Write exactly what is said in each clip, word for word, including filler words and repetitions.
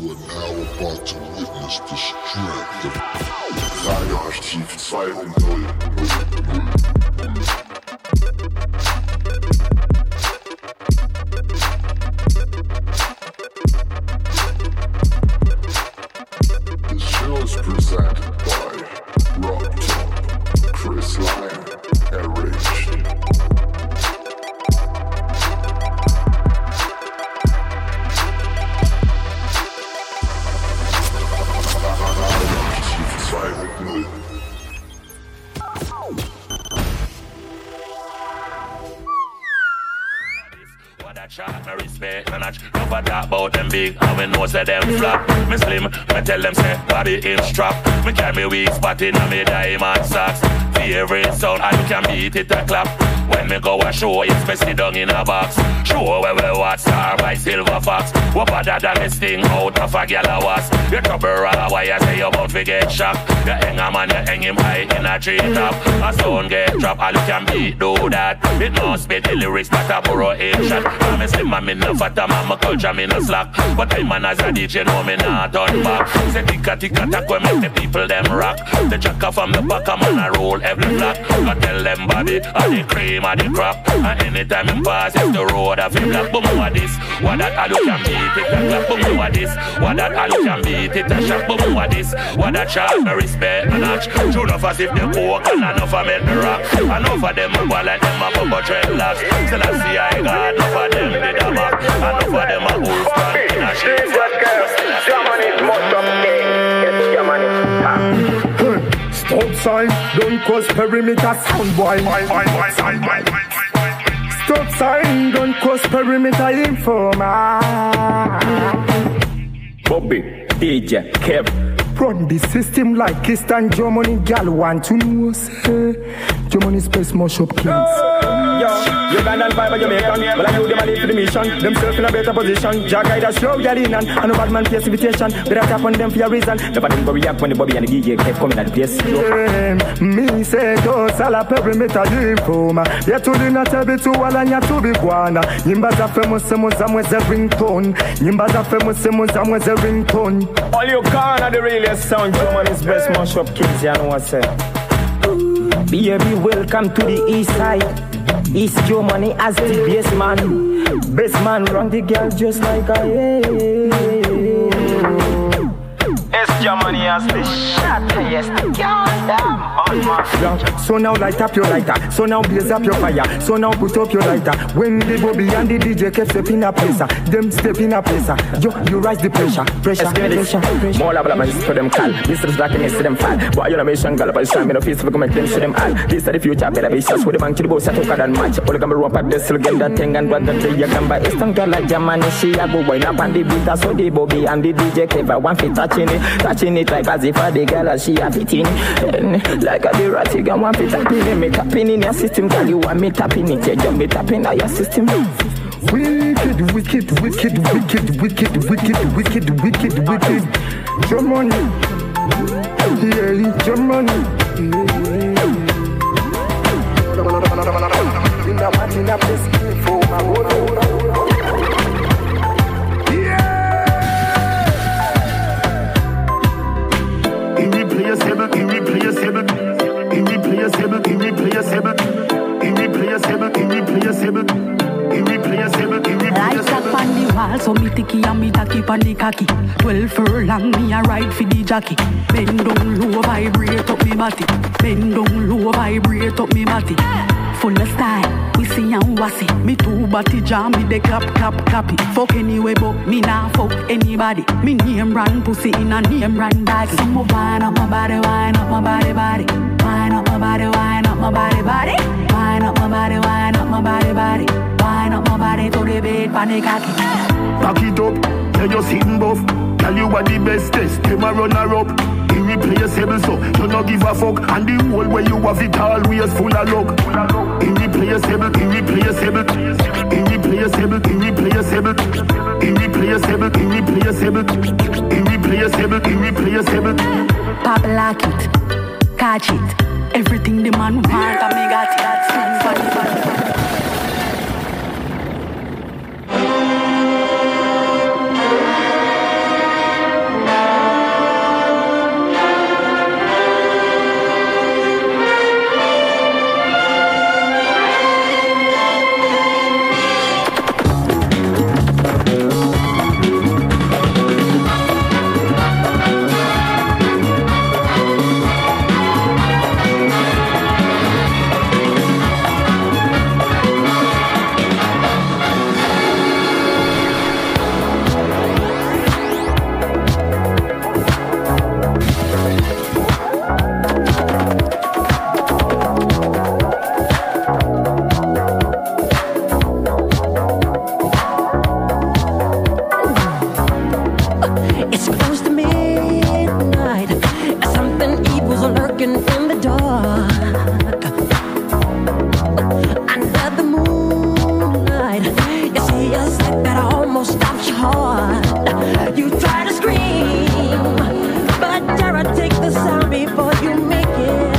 You are now about to witness the strength of Radioaktiv zwei Punkt null. The show is presented by Rob Top, Chris Lyon, Erich. Me respect me notch. Don't talk about them big and we know say them flop. Me slim, me tell them say body in strap. Me carry me weak spot in a me diamond socks. Favorite sound and you can beat it a clap. When me go a show, it's me sit down in a box. Show where we watch Star by Silver Fox. What better than this thing out of a gal a was. You trouble a wire say you bout to get shocked. You hang a man, you hang him high in a tree top. A sound get drop, all you can beat do that. It no spit the lyrics but a burrow in shot. I'm a slim man, me no fat, I'm a culture, me no slack. But I'm man as a D J, know me not turn back. Say ticka ticka tack when make the people them rock. The jacker from the back, I'm on a roll every block. I tell them body, I the cream, I the crap. And anytime him pass, it's the road of him black. Boom, what this? What that all you can beat it a clap. Boom, what this? What that all you can beat it a shot. Boom, what this? What that shot, me respect and notch. True enough as if they coke and enough of men the rock. Enough of them move like them a pop a dreadlocks. Still I see I got enough of them did a back. Enough of them a wolf stand in a shit. Germany is much up there. Yes, Germany is top. Stop sign, don't cross perimeter, sound boy. Stop sign, don't cross perimeter, informer. Bobby, D J, Kev. Run the system like Eastern Germany, gal want to know, say Germany space mush up kings. Yo, Ugandan fiber Jamaican, but I know them a live for the mission. Themself in a better position. Jack guide us show y'all in and no bad man place invitation. Better tap on them for your reason. Never them go react when the Bobby and the D J kept coming at the place. Yeah, me say those all a perimeter informer. Yet to the not be to all and yet to be guana. Yimba za famous semos amwez a ringtone. Yimba za famous semos amwez a ringtone. All you can are the realest sound. Germany's best mash up kids, you know what I say. Baby, welcome to the east side. East Germany as the best man. Best man run the girl just like I am. East Germany as the shot. Yes, the girl damn. So now light up your lighter. So now blaze up your fire. So now put up your lighter. When the Bobby and the D J kept step in a place, them step in a place. Yo, you rise the pressure, pressure, pressure, pressure. More love, man, for them call. This is black and this to them fall. Boy, you're a mission, girl, but it's time in the face, we can make them see them all. This is the future, better be shots with the bank to the boss, I took out and match. All the camera rope at the still get that thing and what the day you can buy. It's don't get like Germany, she a go wind up on the beat. So the Bobby and the D J clever, one feet touching it, touching it like as if a the girl she a fitting. Like a the rat, you can one feet tapping it, me tapping in your system, girl, you want me tapping it, you jump me tapping on your system. Wicked, wicked, wicked, wicked, wicked, wicked, wicked, wicked, wicked. Germany, yeah, Germany. In a mat, in a place, for my water. Irreplaceable, irreplaceable, irreplaceable, irreplaceable, irreplaceable, irreplaceable. Lights up on the wall, so me ticky and me tacky on the cocky. Twelve furlong, me a ride for the jockey. Bend down low, vibrate up me body. Bend down low, vibrate up me body. Full of style, we see and wassy. Me two body jam, me de clap, clap, clappy. Fuck anyway, but me nah fuck anybody. Me name brand pussy in a name brand bag. So me wine up my body, wine up my body, body. Wine up my body, wine up my body, body. Wine up my body, wine up my body, body. Wine up my body to the bed, panic cocky. Back it up, tell you sitting buff. Tell you what the best test, them a runner up. Irreplaceable, so you no give a fuck. And the whole way you have it always full of luck. Irreplaceable, irreplaceable, irreplaceable, irreplaceable, irreplaceable, irreplaceable, irreplaceable, irreplaceable. Pop lock it, catch it. Everything the man want, I me got it. That's fun, fun, fun. It's close to midnight. Something evil's lurking in the dark. Under the moonlight, you see a sight that almost stops your heart. You try to scream, but terror takes the sound before you make it.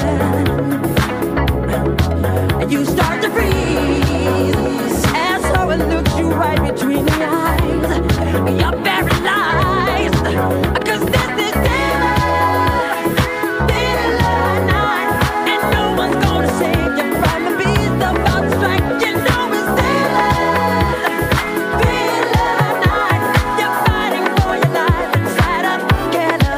You start to freeze as someone looks you right between the eyes. You're paralyzed, cause this is daylight, daylight night, and no one's gonna save you from the beast about to strike. You know it's daylight, daylight night. You're fighting for your life inside a together.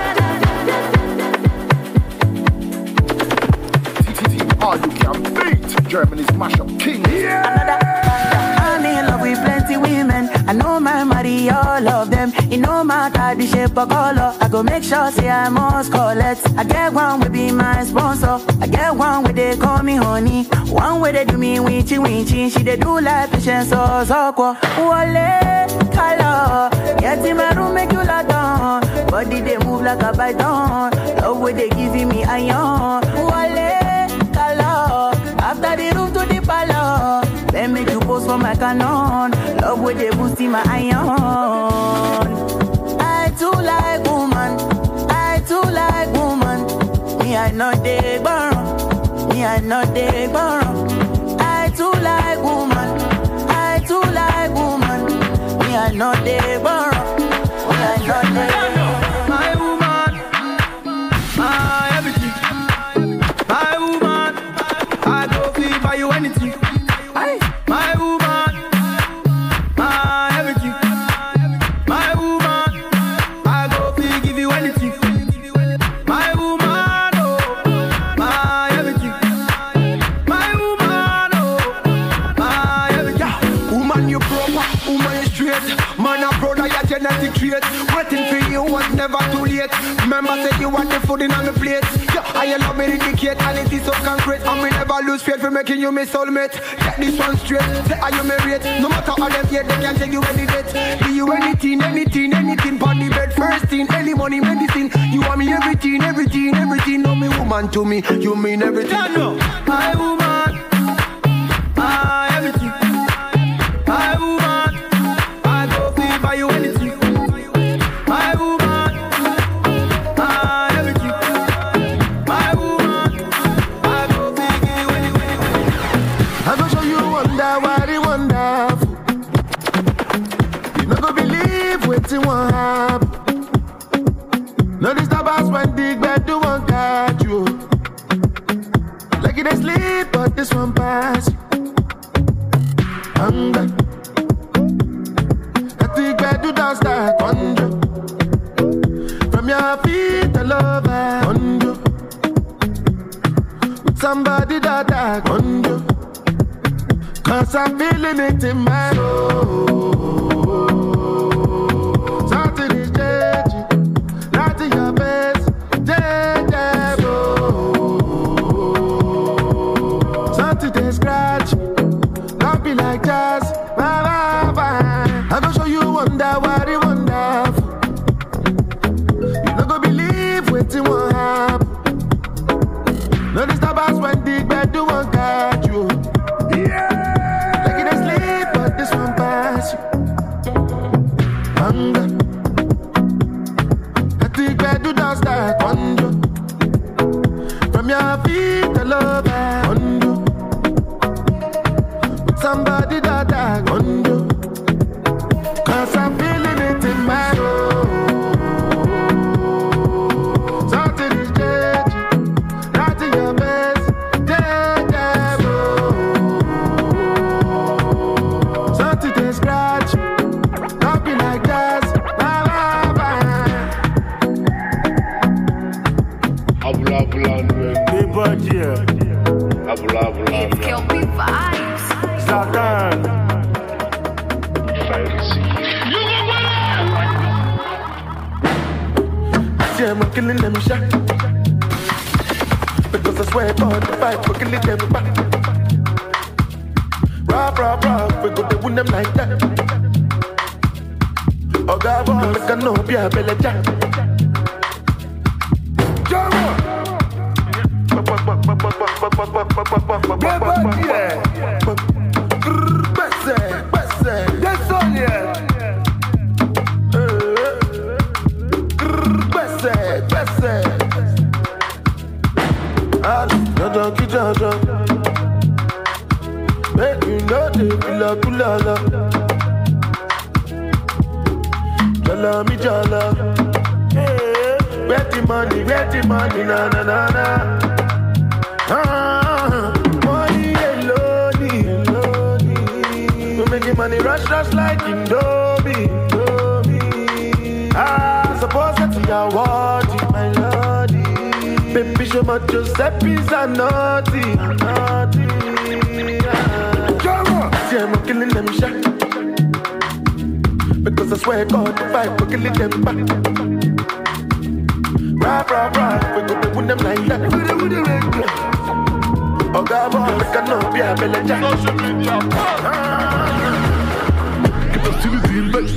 All you can beat Germany's mashup king. Yeah. I'm in love with plenty women. I know my money, all of them. It no matter the shape or color. I go make sure say I must collect. I get one will be my sponsor. I get one where they call me honey. One where they do me winchy winchy. She they do like patience or soko. Wale color. Get in my room make you lie down. Body they move like a python. Love where they giving me iron. Wale color. After the room to the palace. Then make you pose for my canon. Love where they boosting my iron. I too like woman. I too like woman. Me I not they borrow. Me I not they borrow. I too like woman. I too like woman. Me I not they borrow. Me I not they borrow. My woman, my everything. My woman, I go feel by you anything. My woman, my everything. My woman, I go feel give you anything. My woman, oh, my everything. My woman, oh, my everything. Yeah. Woman, you proper, woman, you straight. Man, a brother, your genetic trait. Waiting for you was never too late. Remember, say you want the food in on the plate. Yeah, I love me indicate, and it is so concrete. And we never lose faith for making you my soulmate. Get this one straight, say are you married? No matter how them yet, they can take you any date. Do you anything, anything, anything, on the bed, first thing, any money, medicine. You want me everything, everything, everything. No, me woman to me, you mean everything. Yeah, no. My woman, my everything. My woman, I go feel by you anything. My woman, my everything. My woman, I go feel you anything. I go show you wonder why they wonderful. You not go believe what you want happen. No disturb us when the bed do one catch you. Like it is sleep, but this one pass you. Hunger. I think I do dance that conjure. From your feet, I love I conjure. With somebody that I conjure. Cause I'm feeling it in my soul. Something is changing. Not in your face. Changeable. Something they scratch. Don't be like jazz. Bye, bye, bye. I'm gonna show you wonder why they wonderful. You not gonna believe what you want happen. No disturb us when the bed do one catch you. Yeah. Like it is sleep, but this one pass you. Hunger. I think bed do dance that conjure. From your feet, I love I conjure. With somebody that I conjure. Cause I'm feeling it in my soul. Something is changing. Not in your best. Something they scratch. Don't be like that. Bye, bye, bye. Abula, abula, abula, abula. It's Kelpie vibes. Zatan. Yeah, I'm killing them shot. Because I swear about the fight, we're killing them back. Rah, rah, rah, we go to win them like that. Oga boy, make a no be a belly jack. Donkey Jojo, make you know the kula kula la. Jala mi jala, where the money, where the money, na na na na. Ah, money alone, alone. We making money rush rush like Indomie, Indomie. Ah, suppose that's your word, my lordy. Baby, show my Giuseppe's a naughty, naughty. See, I'm killing them shot. Because I swear God, the fight, we're killing them back. Rah, rah, rah, we're gonna win them like that. Oh, God, boy, we cannot be a belly jack. Gib das Ziel in Bett.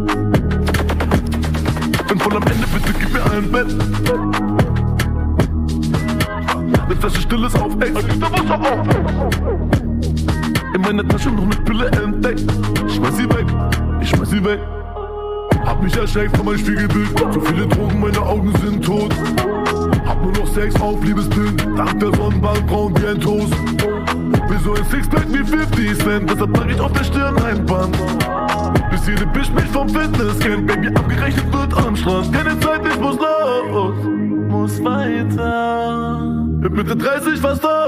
Bin voll am Ende, bitte gib mir ein Bett. Eine Flasche Stilles auf Ex, da Wasser auf. In meiner Tasche noch eine Pille entdeckt. Ich schmeiß sie weg, ich schmeiß sie weg. Hab mich erschreckt von meinem Spiegelbild. Zu viele Drogen, meine Augen sind tot. Hab nur noch Sex auf Liebesbild. Dank der Sonnenbank braun wie ein Toast. Bin so ein Sixpack wie fifty Cent. Deshalb trag ich auf der Stirn ein Band. Bis jede Bitch mich vom Fitness kennt. Baby, abgerechnet wird am Strand. Keine Zeit, ich muss los. Muss weiter. Mit Mitte dreißig fast da,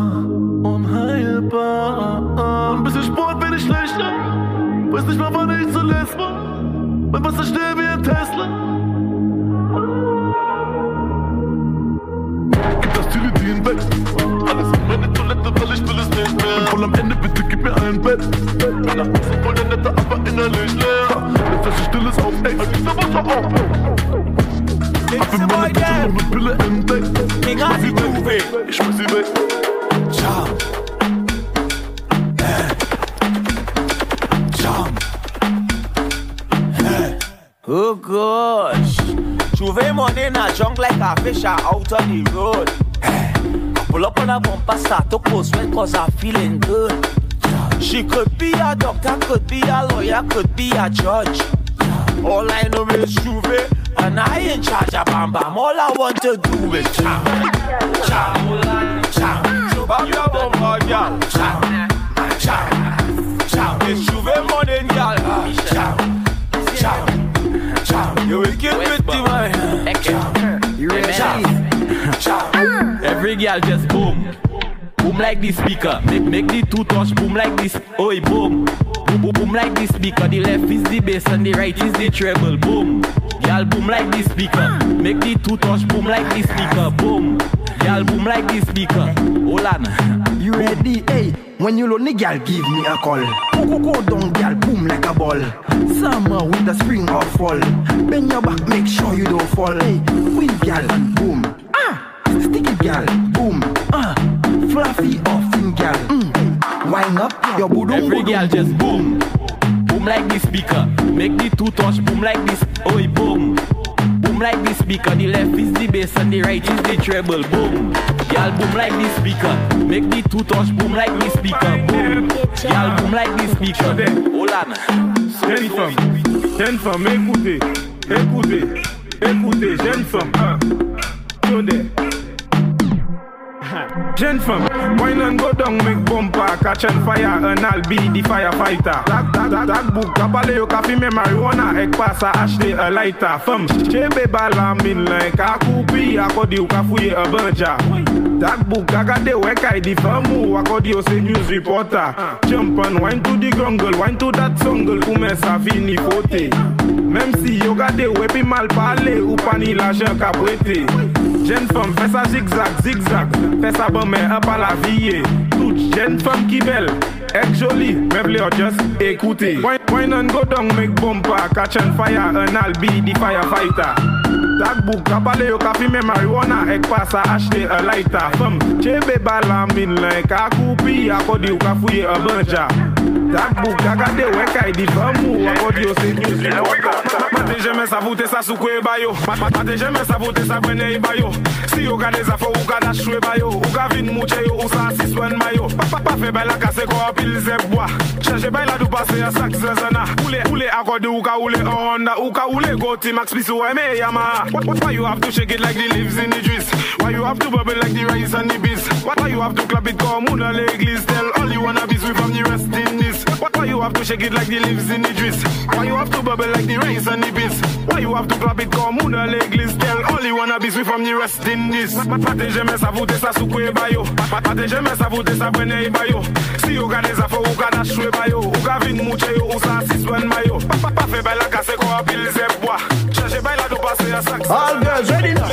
unheilbar. Ein bisschen Sport bin ich schlecht, weiß nicht mal wann ich zuletzt war. Mein Wasser schnell wie ein Tesla. Gib das Tilidin weg, alles in meine Toilette, weil ich will es nicht mehr. Bin voll am Ende, bitte gib mir ein Bett. Bin nach außen voll der Nette, aber innerlich leer. Eine Flasche Stilles auf Ex, da Wasser auf. Hab in meiner Tasche noch eine Pille entdeckt. Ich schmeiß sie weg, ich schmeiß sie weg. Ciao. Hey. Ciao. Hey. Oh gosh. J'ouvre money in a junk like a fish out on the road. Hey. Pull up on a bumper, start to post sweat cause I'm feeling good. She could be a doctor, could be a lawyer, could be a judge. All I know is J'ouvre. And I ain't charge a bam bam. All I want to do is chow, chow, chow. So bam your bumper, girl. Chow, chow, chow. It's J'ouvre morning, girl. Chow, chow, chow. You wicked with the man. You ready? Chow, chow. Every girl just boom, boom like the speaker. Make make the two touch boom like this. Oi boom, boom boom boom like the speaker. The left is the bass and the right is the treble. Boom. Y'all boom like the speaker. Make the two touch boom like the speaker. Boom. Y'all boom like the speaker. Hold on. You ready? Hey, when you lonely, girl, give me a call. Go go go down, girl, boom like a ball. Summer, winter, spring or fall. Bend your back, make sure you don't fall. Hey, queen girl, boom. Ah, sticky girl, boom. Ah, fluffy or thin girl. Mm. Wind up your boom. Every girl just boom. Boom like the speaker. Make the two touch boom like this. Oi boom. Boom like the speaker. The left is the bass and the right is the treble. Boom. Y'all boom like the speaker. Make the two touch boom like the speaker. Boom. Y'all boom like the speaker. Hold on. Jeune femme, jeune femme, écoutez, écoutez, écoutez, jeune femme, hein. Attendez. Jeune femme, wine and go down, make bumper, catch on fire, and I'll be the firefighter. That, that, that, that book, kapale yo ka fume marijuana, ek passe à acheter a lighter. Femme, chebe bala min like a coupi, akodi yo ka fouye a banja. That book, kagade weka di famu, akodi yo se news reporter. Jump and wine to the grungle, wine to that songle, koume sa fini fote. Même si yo gade wepi mal parler, ou pani l'argent ka prêté. Jeune femme, fais ça zigzag, zigzag. Fais ça bon mais un pas la vie. Toute jeune femme qui belle, est jolie, meuble or just écoutez. Wine, wine and go down, make bumper, catch on fire, and I'll be the firefighter. That book, kapale yo ka fume marijuana, ek passe à acheter a lighter. Femme, chebe bala min like a coupi, akodi yo ka fouye a banja. That book, I got the work I did for move. Audio say news reporter. Mate j'aime ça voter ça sous quoi bayo. Mate j'aime ça voter ça prenne bayo. Si yo gade ça faut ou gade choué bayo. Ou ga vin mouche yo ou ça six one mayo. Papa pa fait baila casse quoi pile zeb bois. Cherche baila du passer à sac zazana. Oule oule accorde ou ka oule Honda ou ka oule go T-Max plus ou me Yamaha. Why you have to shake it like the leaves in the trees? Why you have to bubble like the rice and the beans? Why you have to clap it comme on a l'église? Tell all you wanna be sweet from the rest in this. Why you have to shake it like the leaves in the trees? Why you have to bubble like the rice and the beans? Why you have to clap it comme on a l'église? Tell all you wanna be sweet from the rest in this. Pate j'aime ça voter ça sous quoi bayo. Pate j'aime ça voter ça prenne bayo. Si you gade ça faut ou gade choué bayo. Ou ga vin mouche yo ou ça six one mayo. Papa fait baila casse quoi pile zeb bois. Cherche baila du passer à sac. All girls ready now.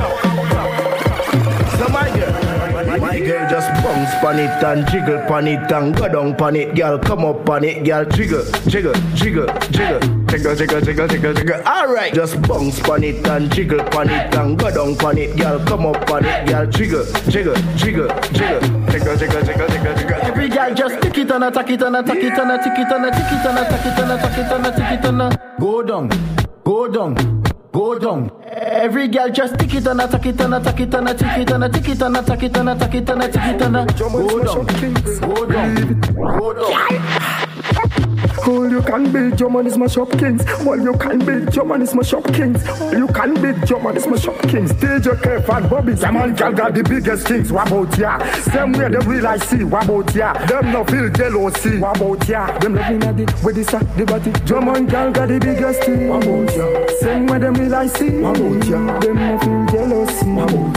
So my girl, my girl just bounce pan it and jiggle pan it and go down pan it, girl. Come up pan it, girl. Jiggle, jiggle, jiggle, jiggle, jiggle, jiggle, jiggle, jiggle, jiggle. All right, just bounce pan it and jiggle pan it and go down pan it, girl. Come up pan it, girl. Jiggle, jiggle, jiggle, jiggle, jiggle, jiggle, jiggle, jiggle, jiggle. Every girl just tick it and attack it and attack it and attack it and attack it and attack it and attack it and attack it and go down, go down. Go down. Every girl just tick it and attack it and attack it and attack it and attack it and attack it and attack it and attack it and go down. Go down. Go down. All you can be, German is my shop kings. All you can be, German is my shop kings. All you can be, German is my shop kings. D J Kev and Bobby, German girl got the biggest things. What about ya? Same way they realize see. What about ya? Them no feel jealousy. What about ya? Them loving at it with this the body. German girl got the biggest thing. What about ya? Same way them realize see. What about ya? Them no feel jealousy. What about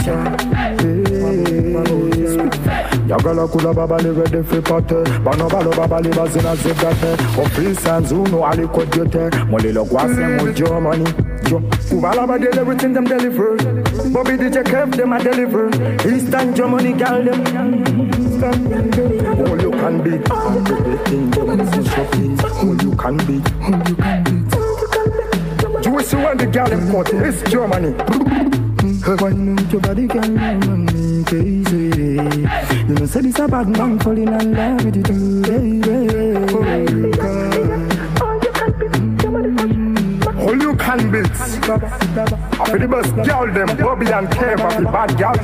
ya? Yagala kula babali ready for party. Banobalo babali bazina zedate. Officers who know ali kodyote. Molilo kwase mo Germany. Jo, Kubala ba deliver everything them deliver. Bobby D J Kev them a deliver. Eastern Germany gal them. All you can be, everything them is shopping. All you can be, all you can be. Jewish when the gal them cut is Germany. Why not your body can me crazy? You know say this a bad man falling in love with you, baby. All you can be. After the best girl them, Bobby and Kev, after the bad girl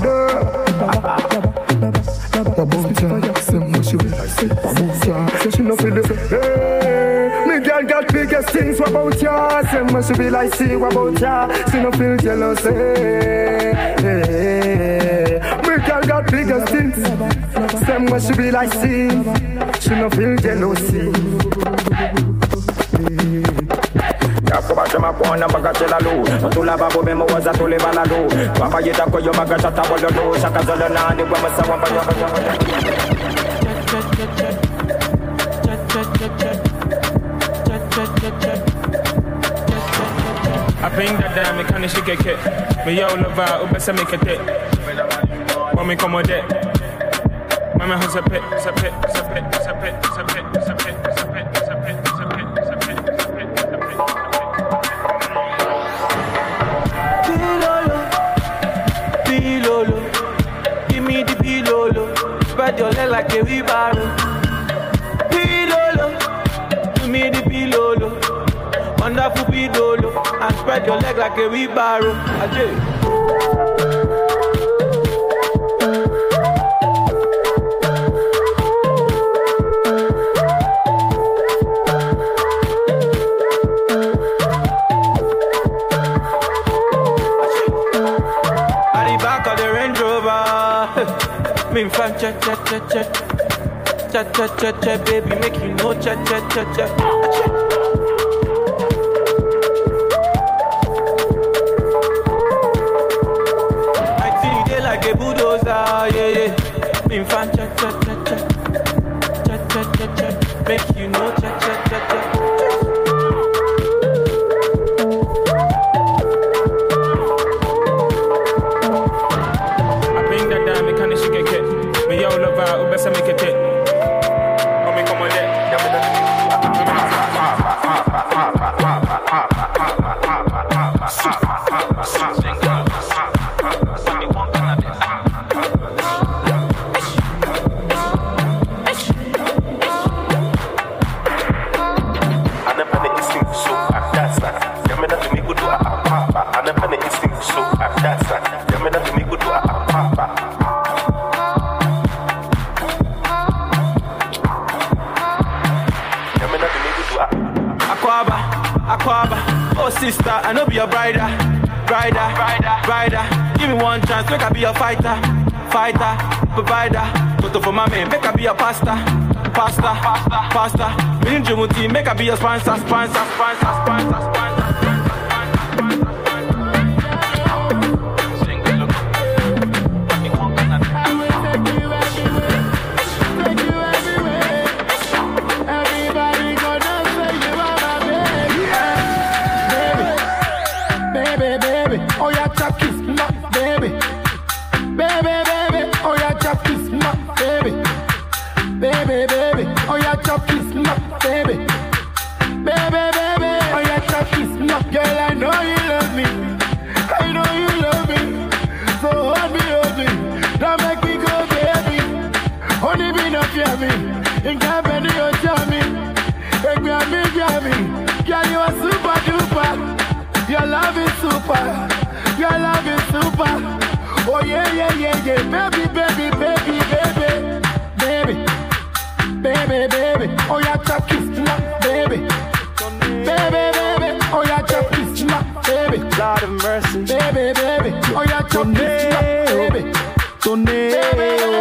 them. About ya, say what she will say. About ya, say she no feel it. Hey, me girl got biggest things. What about ya? Say what she be like. See what about ya? She no feel jealous. Hey, hey, me girl got biggest things. Say what she be like. See, she no feel jealousy. Yakuba ma pona bagachela lu Tula babo bemo waza tule baladu Papa yita ko yo bagachata bolodo Shaka zalana ni wa masawa banya I bring that damn me can't shake it. Me yo lova ubesa make a dip. When me come with it. Mama has a pit, a pit, a pit, a pit, a pit, a pit, a pit, a pit. Spread your leg like a wheelbarrow. Pilolo, give me the pilolo. Wonderful pilolo, and spread your leg like a wheelbarrow. Ajay. Me fan cha cha cha cha cha cha cha cha baby make you know cha cha cha cha. I see you there like a bulldozer, yeah yeah. Me fan cha cha cha cha cha cha cha cha make you know cha cha cha cha. Ubesa make it take. When me come on there. sister, I know be your brider, brider, brider, brider. Give me one chance, make I be your fighter, fighter, provider. Toto for my man, make I be your pastor, pastor, pastor, pastor. Me and Jumuti, make I be your sponsor, sponsor, sponsor, sponsor, sponsor. Your love is super, your love is super. Oh yeah, yeah, yeah, yeah, baby, baby, baby, baby, baby, baby, baby. Oh yeah, chop kiss, baby, baby, baby. Oh yeah, chop kiss, baby. Lord of mercy, baby, baby. Oh yeah, chop kiss, baby, baby.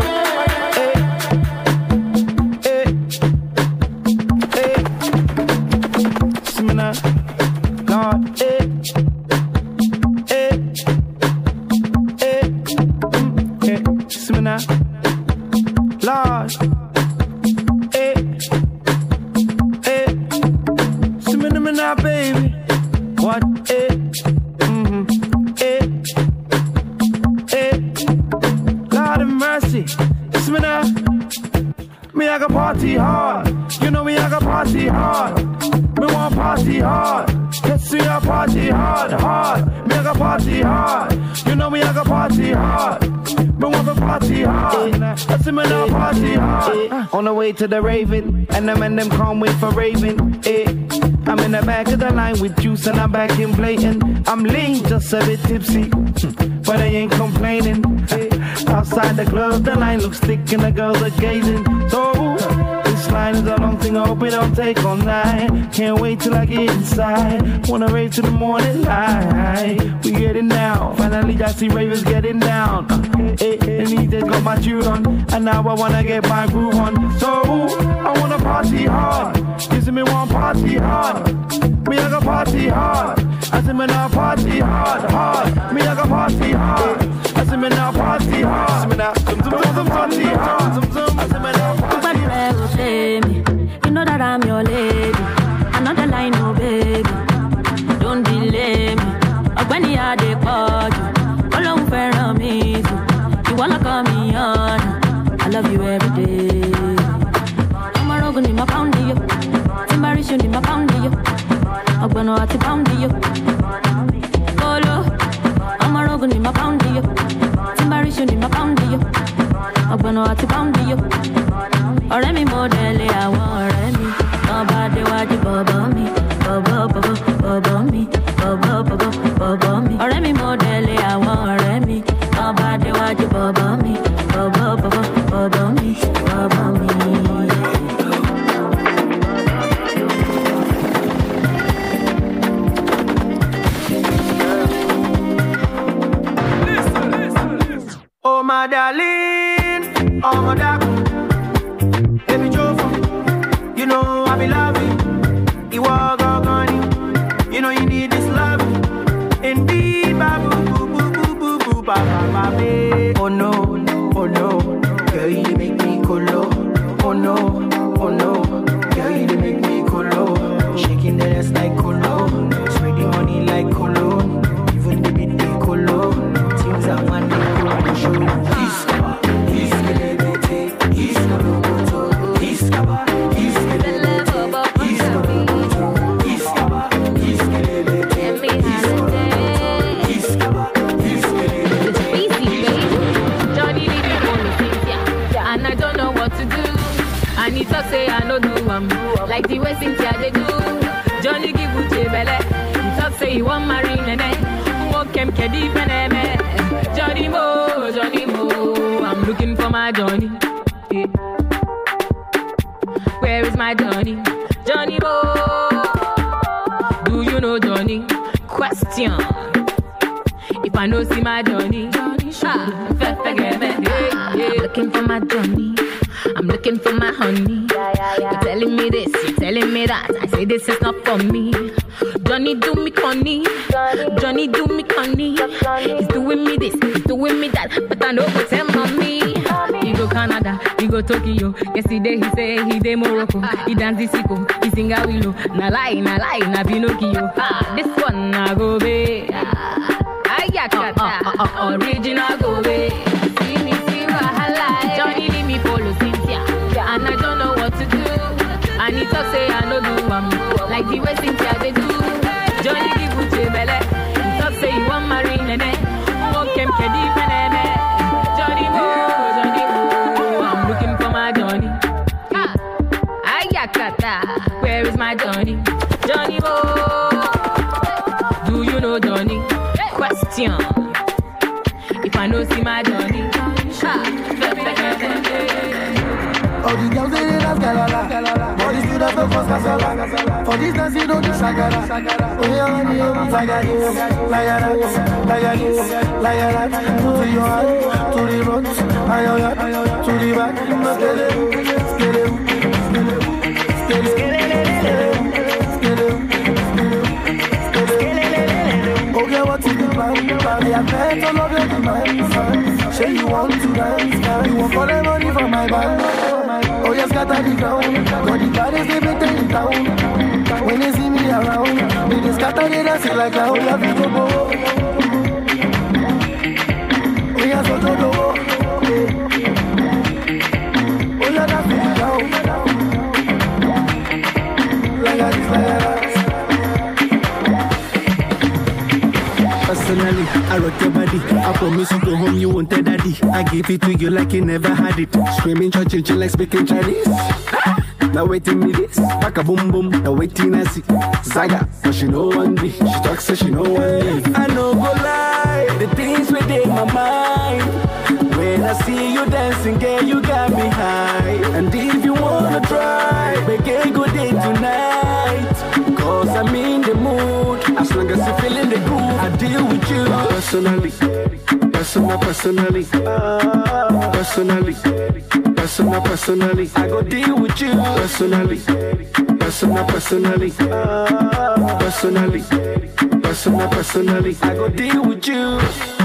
Party hard, you know me, I got party hard. Me want party hard. Let's see I party hard, hard. Me I got party hard. You know me, I got party hard. Me want to party hard. Let's see me now party hard. On the way to the Raven, and them and them can't wait for Raven. Eh. I'm in the back of the line with juice and I'm back in blatant. I'm lean, just a bit tipsy, but I ain't complaining. Eh. Outside the club, the line looks thick and the girls are gazing. So this line is a long thing, I hope it don't take all night. Can't wait till I get inside. Wanna rave to the morning light. We getting down, finally I see ravers getting down. Uh, eh, and these days got my tune on, and now I wanna get my groove on. So I wanna party hard. You see me want party hard. Me I got party hard. I see me now party hard, hard. Me I got party hard. I see me now party hard. I see me now zum zum zum party hard. Zum zum. I see me now party hard. You know that I'm your lady. Another line, oh baby. Don't delay me. When you are the party, all over me. You wanna call me on? I love you every day. I'm a rogan in my pound you. Timbaration in my pound you. I'm gonna have to pound you. Polo. I'm a rogan in my pound you. Timbaration in my pound you. I'm gonna have to pound you. Ọ̀rẹ́ mi mo délé àwọn ọ̀rẹ́ mi. Ọba déwájú bọ̀bọ̀ mi. Bọ̀bọ̀ bọ̀bọ̀ bọ̀bọ̀ mi. Bọ̀bọ̀ bọ̀bọ̀ bọ̀bọ̀ mi. Ọ̀rẹ́ mi mo délé àwọn ọ̀rẹ́ mi. Ọba déwájú bọ̀bọ̀ mi. Bọ̀bọ̀ bọ̀bọ̀ bọ̀bọ̀ mi. Bọ̀bọ̀ mi. Oh my darling, oh my darling. You know I be loving, you are gone. You know you need this love. Indeed, babu, boo, boo, boo, boo, boo, ba, ba, ba, ba. Oh no, oh no, girl you make me colo. Oh no, oh no, girl you make me colo. Shaking the ass like colo, spreading money like colo. Even the bit they colo, things are man they colo. Show this, this, this, this, say I no do am like the way Cynthia they do. Johnny give Uche belle. He talk say he want marry nene. Walk him kedi peneme. Johnny Mo, Johnny Mo. I'm looking for my Johnny. Yeah. Where is my Johnny? Johnny Mo. Do you know Johnny? If I know see my Johnny, ah, I'm looking for my Johnny. I'm looking for my honey. You're telling me this, you're telling me that. I say this is not for me. Johnny do me conny, Johnny do me conny. He's doing me this, he's doing me that, but I know what's him on me. He go Canada, he go Tokyo. Yesterday he say he dey Morocco. He dance the sicko, he sing a willow. Na lie, na lie, na Pinocchio. Ah, this one na go be. Ayakata, uh, uh, uh, original go be. See me, see wahala. Johnny leave me follow Cynthia, and I don't know what to do. And he talk say I no do am like the way Cynthia they do. Johnny give Uche belle. He talk say he want marry nene. Won't kem kedi peneme. Johnny Mo, Johnny Mo. I'm looking for my Johnny. Ah, Ayakata, where is my Johnny? Johnny Mo. Do you know Johnny? Question. If I know see my Johnny. All the girls they dance galala, all the students don't cause casala. For this dance you don't do shagara. Oh yeah, money, like I do, like I do, like I do, like I do. To your heart, to the front, to the back, skele, skele, skele, skele, skele. Okay, what's in the plan? I bet all of your demands. Say you want to dance, you want for the money from my band. Oh, yes, scatter the ground. Got the bodies, they been taking down. When they see me around, they just scatter the dance like how we have to go. Oh, yes, what to do? Oh, yeah, that's it down. Like I just like that. Personally, I rock your body. I promise you go home, you won't tell daddy. I give it to you like you never had it. Screaming, church, like speaking Chinese. Now waiting me this, back a boom boom. Now waiting I see Zaga, but she know one day. She talks so she know one day. I know go lie, the things within my mind. When I see you dancing, girl, you got me high. And if you wanna try, make a good day tonight. Cause I'm in the mood. As long as you feeling the groove, I deal with you. Personally, personal, personally, personally, personal, personally. I go deal with you. Personally, personal, personally, personally, personal, personally. I go deal with you.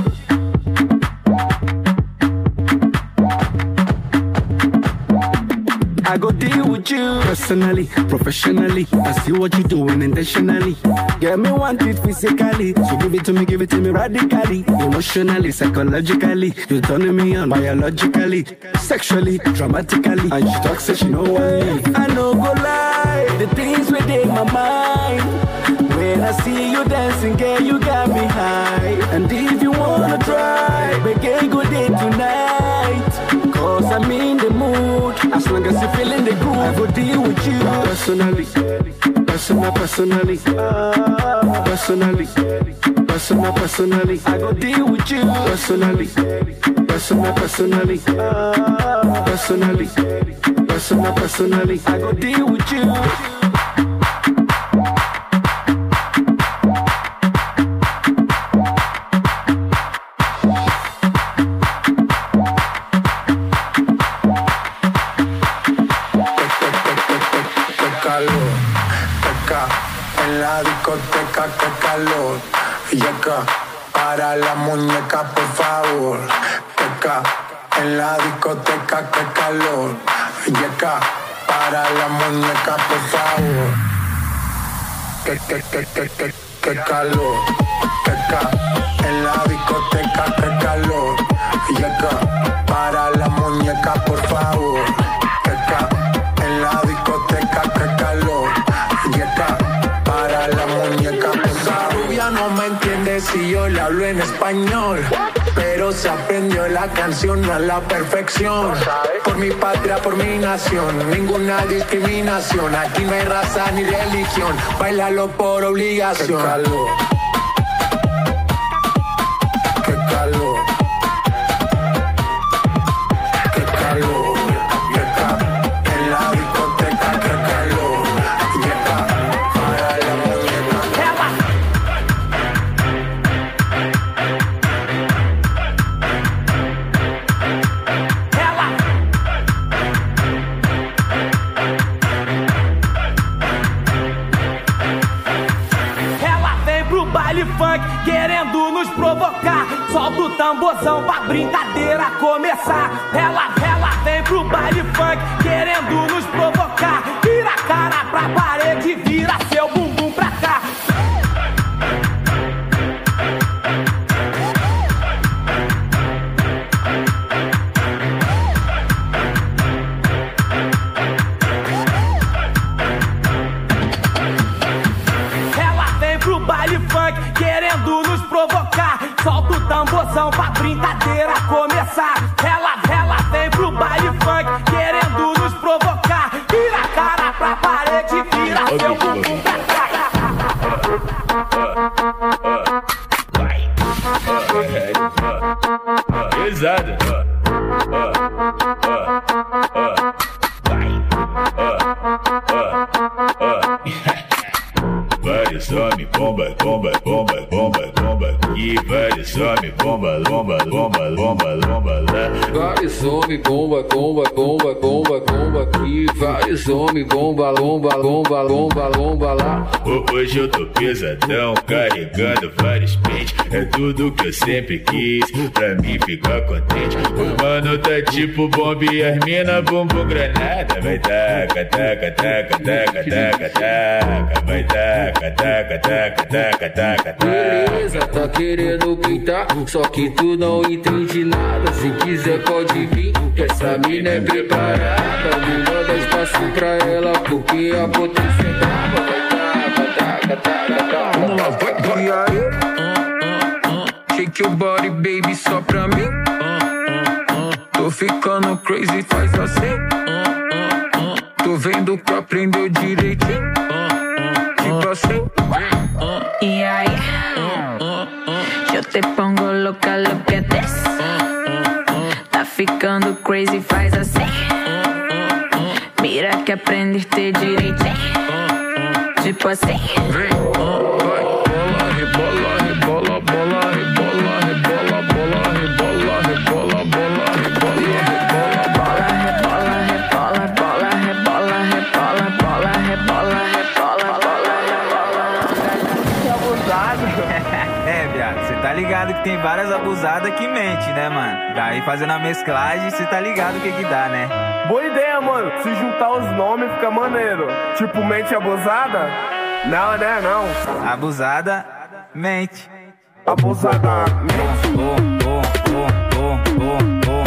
I go deal with you personally, professionally. I see what you're doing intentionally. Get me want it physically, so give it to me, give it to me radically, emotionally, psychologically. You're turning me on biologically, sexually, dramatically. And she talks, so she know what I know go lie, the things within my mind. When I see you dancing, girl, you got me high. And if you wanna try, make a good day tonight. Cause I'm in the mood. As long as you feeling the groove, I go deal with you. Personally, personal, personally, personally, personal, personally. I go deal with you. Personally, personal, personally, personally, personal, personally. I go deal with you. Para la muñeca, por favor. Teca, en la discoteca, qué calor. Yeca, para la muñeca, por favor. Que, que, que, que, que, que calor. Teca, en la discoteca, qué calor. Yeca, para la muñeca, por favor. Teca, en la discoteca, qué calor. Yeca, para la muñeca, por favor. Rubia no me entiende si yo le hablo en español, pero se aprendió la canción a la perfección. Por mi patria, por mi nación, ninguna discriminación. Aquí no hay raza ni religión, bailalo por obligación. Qué calor, qué calor, qué calor. En la discoteca, qué calor. Llega para la muñeca. querendo nos provocar. Solta o tamborzão pra brincadeira começar. Ela, ela vem pro baile funk, querendo nos provocar. Vira a cara pra parede, vira seu bumbum pra cá. Querendo nos provocar, solta o tamborzão pra brincadeira começar. Ela, ela vem pro baile funk, querendo nos provocar. Vira a cara pra parede, vira seu bumbum pra cá. Pesada. Vários homens, bomba, bomba, bomba, bomba, bomba. E vários homens, bomba, bomba, bomba, bomba, bomba lá. Vários homens, bomba, bomba, bomba, bomba, bomba aqui. Vários homens, bomba, bomba, bomba, bomba, bomba lá. Hoje eu tô pesadão, carregando vários pentes. É tudo que eu sempre quis, pra mim ficar contente. O mano tá tipo bomba e as mina bumbum granada. Vai taca, taca, taca, taca, taca, taca. Vai taca, taca, taca, taca, taca, taca. Beleza, tá querendo pintar, só que tu não entende nada. Se quiser pode vir, que essa mina é preparada. Me manda espaço pra ela, porque a potência é brava. Vai taca, taca, taca, taca. Vamos lá, vai, vai. E aí? Shake your body, baby, só pra mim. Tô ficando crazy, faz assim. Tô vendo que aprendeu direitinho. Tipo assim. Y ahí yo te pongo loca, lo que des. Tá ficando crazy, faz assim. Mira que aprendiste direitinho. Tipo assim. Vem, vai, bola, rebola, rebola, bola, rebola, rebola, bola, rebola, rebola, bola, rebola, rebola, bola, rebola, rebola, bola, rebola, rebola, bola, rebola, rebola, bola, rebola. Que abusado. É, viado, cê tá ligado que tem várias abusadas que mente, né, mano? Daí fazendo a mesclagem, cê tá ligado o que que dá, né? Boa ideia, mano. Se juntar os nomes fica maneiro. Tipo, mente abusada? Não, né, não. Abusada, mente. Abusada, mente. Oh, oh, oh, oh, oh, oh.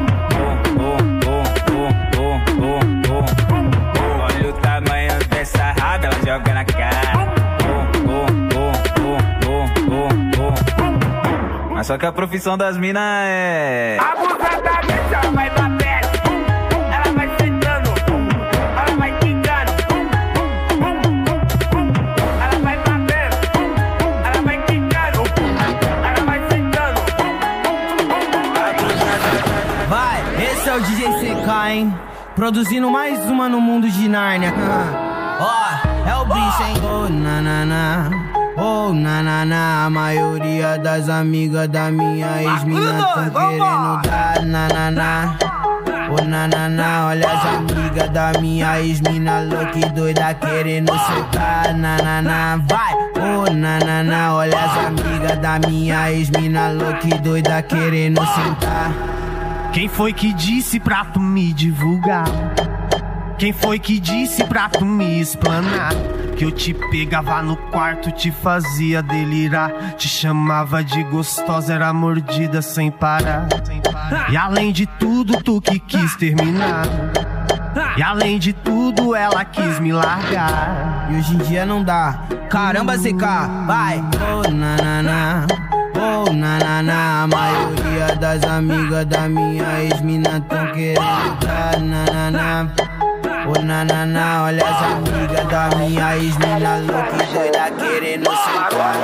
Olha o tamanho dessa raba, ela joga na cara. Mas só que a profissão das minas é... Abusadamente ela vai bater, ela vai sentando, ela vai quicando, ela vai bater, ela vai quicando, ela vai sentando. Vai, esse é o D J C K, hein? Produzindo mais uma no mundo de Nárnia. Ó, oh, é o bicho, hein? Oh, na, na, na. Oh, na, na, na, a maioria das amigas da minha ex-mina tão querendo dar, na, na, na. Oh, na, na, na, olha as amigas da minha ex-mina louca e doida querendo soltar, na, na, na, vai. Oh, na, na, na, olha as amigas da minha ex-mina louca e doida querendo sentar. Quem foi que disse pra tu me divulgar? Quem foi que disse pra tu me explanar? Que eu te pegava no quarto, te fazia delirar, te chamava de gostosa, era mordida sem parar. E além de tudo, tu que quis terminar. E além de tudo, ela quis me largar. E hoje em dia não dá. Caramba, C K, vai! Oh, na, na, na. Oh, na, na, na. A maioria das amigas da minha ex-mina tão querendo dar, na, na, na. Oh, na, na, na, olha as amigas da minha ex-mina louca e doida querendo sentar.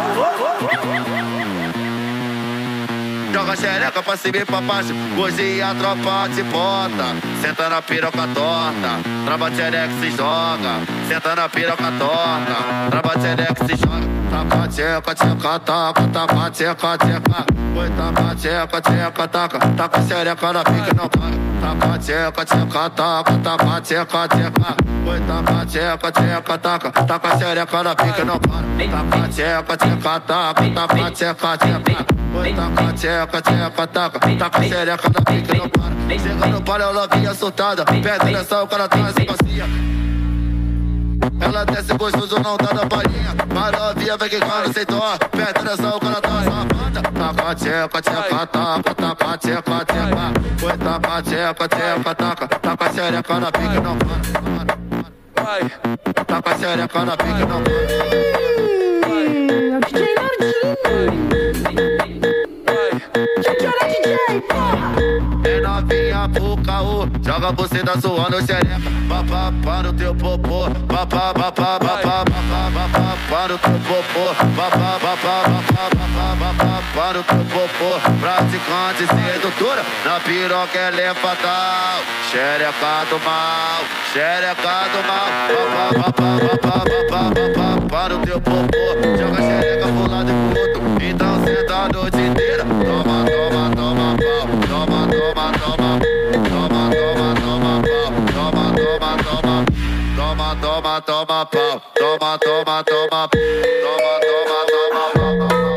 Joga xereca pra cima e pra baixo, hoje a tropa te bota. Senta na piroca torta, trava xereca se joga. Senta na piroca torta, trava xereca se joga. Taca, tcheca, tcheca, taca, taca, tcheca, tcheca. Oi, taca, tcheca, tcheca, taca, taca xereca na pica, não caga. taca, tcheca, tcheca, taca, taca, tcheca, tcheca. Oi, taca, tcheca, tcheca, taca, taca xereca na pica não para. Taca, tcheca, tcheca, taca, taca, tcheca, tcheca. Oi, taca, tcheca, tcheca, taca, taca xereca na pica não para. Chega no palio, ela vinha soltada, perde nessa, o cara traz a bacia. Ela desce gostoso, não tá na palhinha. Maravilha, vem que quando sem dó. Perto dessa, o cara tá safada. Taca, tcheca, tcheca, taca, taca, tcheca, tcheca. Foi taca, tcheca, tcheca, taca, taca xereca na pica, não para. Vai, taca xereca na pica, não para. É o D J Nardinho. Tchau, D J, porra. É novinha pro caô, joga você da zoando xereca. Papá para o teu popô, papá, papá, papá, papá, papá para o teu popô, papá, papá, papá, papá, papá para o teu popô. Praticante sedutora, na piroca ela é fatal. Xereca do mal, xereca do mal. Papá, papá, papá, papá, papá para o teu popô. Joga xereca pro lado e pro outro, então senta a noite inteira. Toma, toma, toma pau, toma, toma, toma, toma, toma, toma pau, toma, toma, toma, toma, toma, toma pau, toma, toma, toma, toma, toma, toma, toma, toma.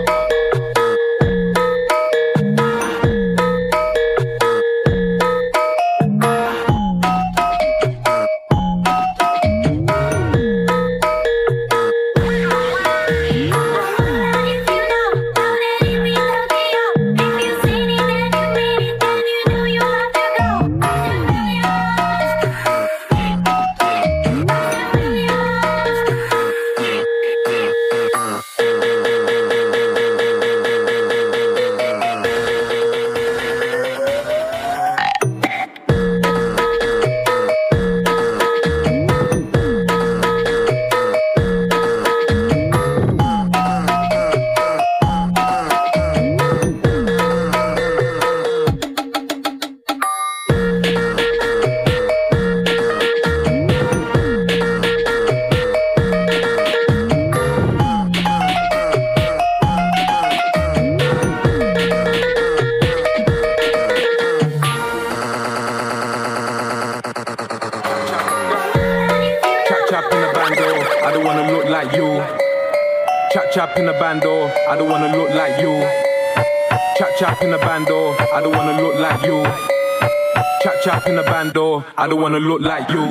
Chap in the bando, I don't wanna look like you. Chap chap in the bando, I don't wanna look like you. Chap chap in the bando, I don't wanna look like you.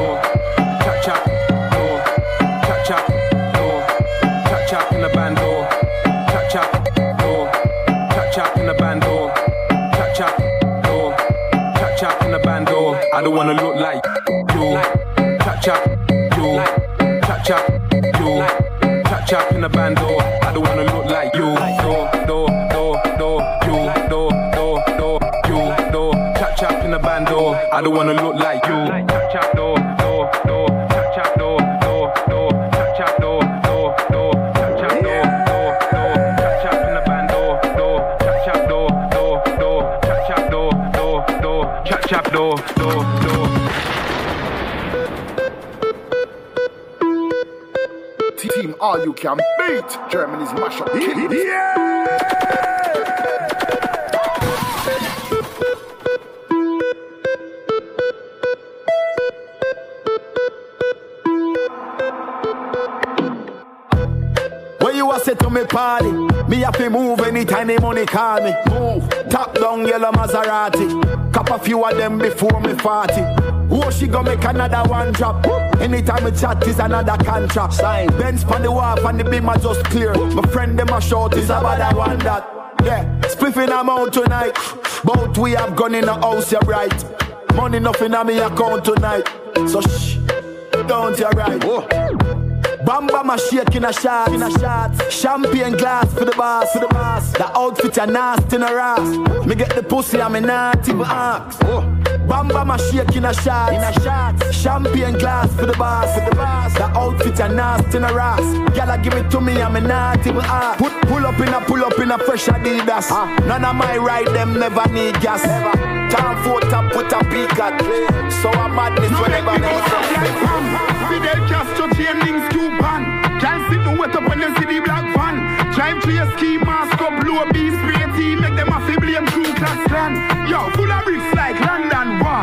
Chap chap, no. Chap chap, no. Chap chap in the bando. Chap chap, no. Chap chap in the bando. Chap chap, no. Chap chap in the bando, I don't wanna look like you. Chap chap, you. Chap chap, you. Chap chap in the bando, I don't wanna look like you. Do, do, do, do, you, do, do, do, you, do. Chap chap in the bando, I don't wanna look like you. Chap chap, do, do, do, chap chap, do, do, do, chap chap, do, do, do, chap chap, do, do, do, chap chap in the bando, do, chap chap, do, do, do, chap chap, do, do, do, chap chap, do, do, do. Team all you can beat Germany's mashup. Yeah! When you a say to me party, me have to move anytime the money call me. Move, top down yellow Maserati. Cop a few of them before me forty. Oh, she gon' make another one drop. Anytime we chat is another contract. Sign. Benz pon the wharf and the beam are just clear. My friend them a short is about that one that. Yeah, spliffing them out tonight. Both we have gone in the house, you're right. Money nothing on me account tonight. So shh, don't you right. Oh. Bamba my shake in a shot, in a shot. Champagne glass for the boss, for the boss. The outfit are nasty in a ass. Me get the pussy and me not even ask. Oh. Bamba my shake in a shot, in a shot. Champagne glass for the boss, for the boss. The outfit are nasty in a ass. Y'all give it to me and me not even ask. Put, pull up in a, pull up in a fresh Adidas. Uh. None of my ride them never need gas. Never. Time for top with a peak at. So I'm madness no, whenever they say. Fidel Castro chain links to pan. Can't sit no wet up when you see the black van. Drive to your ski mask up, blow a beast spray team. Make them a fi blame crew class clan. Yo, full of bricks like London Wall.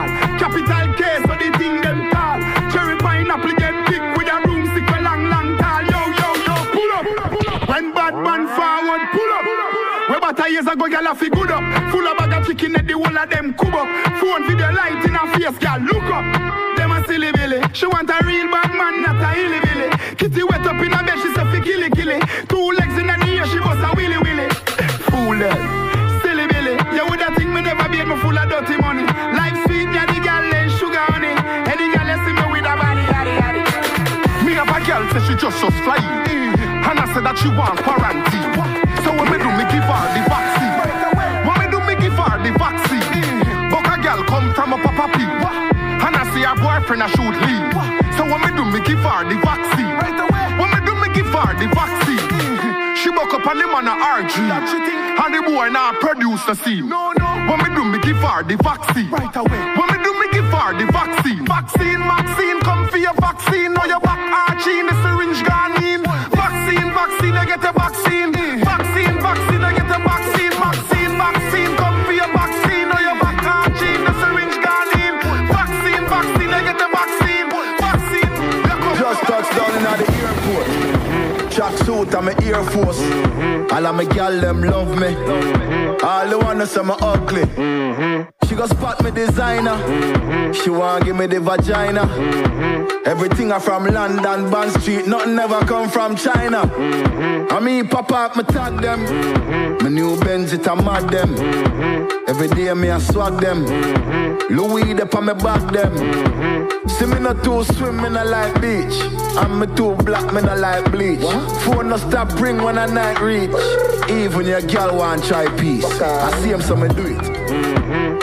lot of years ago, girl, I feel good up. Full of bag of chicken at the whole of them cub up. Phone video light in her face, girl, look up. Them a silly billy. She want a real bad man, not a hilly billy. Kitty wet up in her bed, she say fi killy killy. Two legs in the ear, she bust a willy willy. Fool them, silly billy. You woulda think me never beat me full of dirty money. Life sweet, me a the girl and sugar honey. Any girl you see me with a body, yaddy yaddy. Me have a girl say she just just flying, mm-hmm. And I said that she want quarantine. So when me do me give her the vaccine. When me do me give her the vaccine. Mm-hmm. But a girl come from a papa pee. And I see her boyfriend a shoot leave. So when me do me give her the vaccine. When me do me give her the vaccine. Mm-hmm. She buck up on him on a R G. And the boy now produce the scene. No, no. When me do me give her the vaccine. Right away. When me do me give her the vaccine. Vaccine, vaccine, come for your vaccine. Now your back arching, the syringe gone in. Vaccine, vaccine, I get a vaccine. Vaccine, vaccine, I get a vaccine. Vaccine, vaccine, come for your vaccine. Now your back arching, the syringe gone in. Vaccine, vaccine, I get a vaccine. Vaccine. Just touched down in the airport. Track suit and my Air Force. All of my gal them love me. All the wanna say me ugly. She go spot me designer. She want give me the vagina. Everything I from London, Bond Street. Nothing ever come from China. I mean pop up, me tag them. My new Benz it a mad them. Every day me a swag them. Louis de pa me back them. See me not too swim, me not like beach. And me too black, me not like bleach. Phone no stop ring when a night reach. Even your girl want try peace. Okay. I see him, so me do it. Mm-hmm.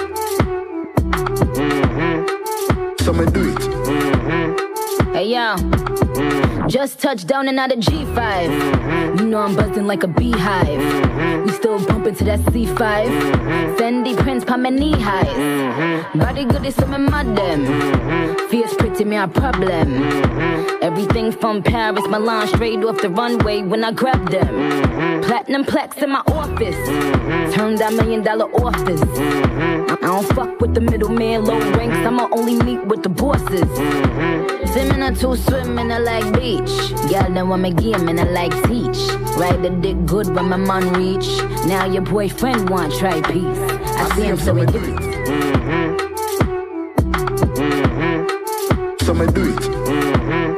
So me do it. Mm-hmm. Hey yo, mm-hmm. Just touched down and out of G five. Mm-hmm. You know I'm buzzing like a beehive. Mm-hmm. We still bumping to that C five. Mm-hmm. Fendi prints pa my knee highs. Mm-hmm. Body good is some mad them. Mm-hmm. Fierce pretty me a problem. Mm-hmm. Everything from Paris, Milan, straight off the runway when I grab them. Mm-hmm. Platinum plaques in my office. Mm-hmm. Turn that million dollar office. Mm-hmm. I don't fuck with the middleman, low ranks. I'ma only meet with the bosses. Mm-hmm. Swimming or two swimming, I like beach. Y'all know I'm a game and I like teach. Ride the dick good when my man reach. Now your boyfriend want try peace. I, I see him, so we do it. Mm-hmm. Mm-hmm. So me do it. Mm-hmm.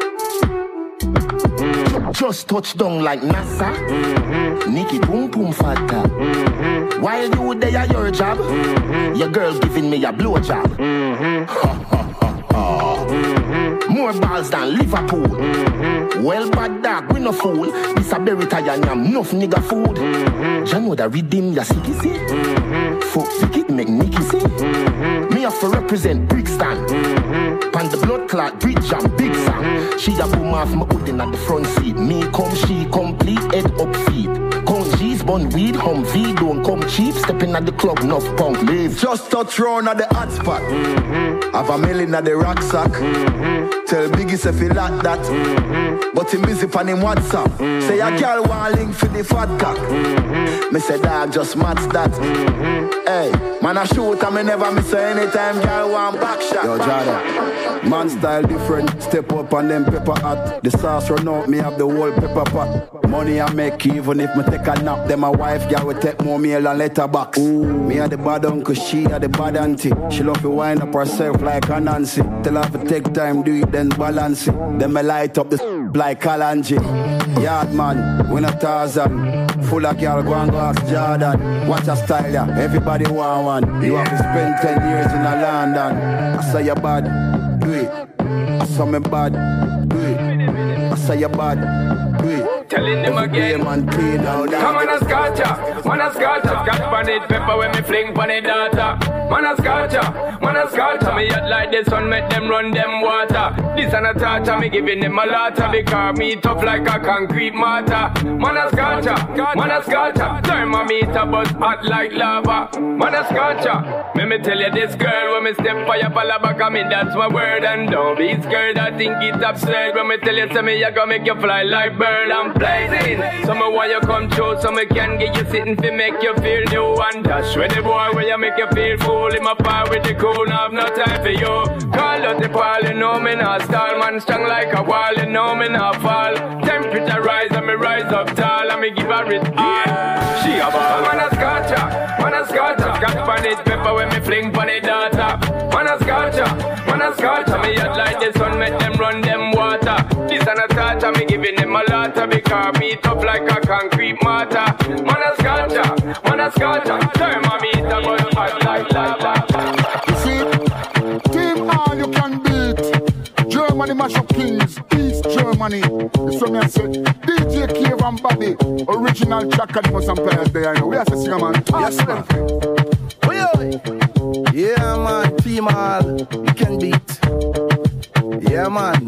Just touch down like NASA. Mm-hmm. Nikki boom boom fatta. Mm-hmm. While you there your job, mm-hmm. Your girl giving me a blow job. Mm-hmm. Ha ha ha ha. Mm-hmm. More balls than Liverpool. Mm-hmm. Well bad dog, we no fool. This a berry tire and enough nigga food. Mm-hmm. You know that redeem ya sicky see. Mm-hmm. Fuck wicked make Nicky see. Mm-hmm. Me have to represent Brixton. Mm-hmm. Pan the blood clot bridge and big song. Mm-hmm. She a boom off my hoodin at the front seat. Me come, she complete head up feet. Count G's, bun weed, hum V, don't come cheap. Stepping at the club, enough punk leave. Just touch round at the hot spot. Mm-hmm. Have a million at the rucksack. Mm-hmm. Tell Biggie say fi like that. Mm-hmm. But him busy pan him WhatsApp. Mm-hmm. Say a girl want link for the fat cock. Mm-hmm. Me say dog just match that. Mm-hmm. Hey, man I shoot and me never miss anytime girl want back shot. Yo Jada, man style different. Step up on them pepper hot. The sauce run out, me have the whole pepper pot. Money I make even if me take a nap. Then my wife girl will take more meal and letterbox. Ooh. Me a the bad uncle, she a the bad auntie. She love to wind up herself like a Nancy. Tell her to take time, do it then balance it. Then me light up the like Kalanji. Yard man, we not Tarzan. Full of girl, go and go ask Jordan. Watch a style, yeah. Everybody want one. You have to spend ten years in a London. I say you bad, do it. I saw me bad, do it. I say you bad, do it. Telling them again. Man, clean out. Come on a scotcha, man a scotcha. Got pan it pepper when me fling pan it data. Man a scotcha, man a scotcha. Me yacht like the sun, make them run them water. This and a torture, me giving them a lotta. Because me tough like a concrete mortar. Man a scotcha, man a scotcha. Thermometer buzz hot like lava. Man a scotcha. Let me tell you this girl, when me step for your palabaka, me that's my word. And don't be scared, I think it's absurd. When me tell you, say me, I gonna make you fly like bird. I'm blazing. So me want you come through, so me can get you sitting to make you feel new. And dash with the boy where you make you feel fool. In my power with the cool, now have no time for you. Call out the ball, you know me not stall. Man strong like a wall, you know me not fall. Temperature rise and me rise up tall. And me give her it all. She a ball. Man a sky. it pepper when me fling pon the data. Man a scorcher, man a scorcher. Me hot like the sun, make them run them water. This and a torture, me giving them a lot of because me tough like a concrete mortar. Man a scorcher, man a scorcher. Turn my meat and go hot like lava. You see, team all you can beat. Germany mash up kings, East Germany. This one me I say, D J Cave and Bobby, original track and most players there. I know we are saying, man. Yes, man. Yeah, man. Team all you can beat. Yeah, man.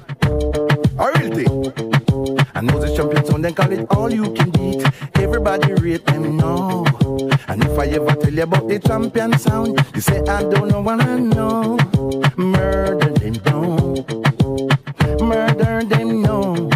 A real thing. And know the champion sound, then call it all you can beat. Everybody rate them now. And if I ever tell you about the champion sound, you say I don't know what I know. Murder them down. Murder them no.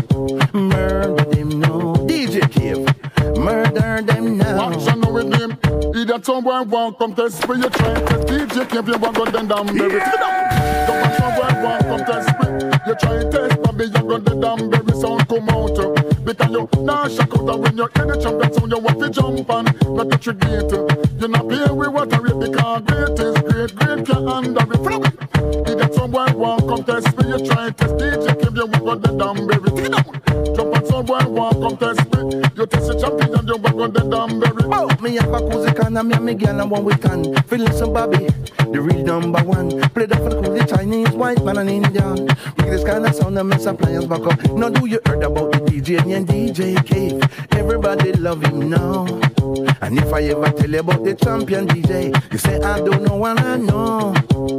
Murder them no. D J Cave. Murder them now. Watch and know with him. Either someone won't come test me, you try to D J Cave, you want to go down down, baby. Don't someone won't come test me. You try to test Bobby, you go the damn baby sound come out. Because you now shock out and when you're in the champion sound, you want to jump and not touch your gate. You're not paying with what I rate because great is great, great can't handle it. Flow it. Either someone won't come test me, you try to test D J Cave, you want to go the damn baby. Jump and someone won't come test me. You test the champion and you want to go the damn baby. Oh, me have a cozy can and me and me girl and one we can. Feeling some Bobby, the real number one. Play that for the cool, the Chinese, white man and Indian. With this kind of sound and mess appliance back up. Now do you heard about the D J and D J Cave? Everybody love him now. And if I ever tell you about the champion D J, you say I don't know what I know.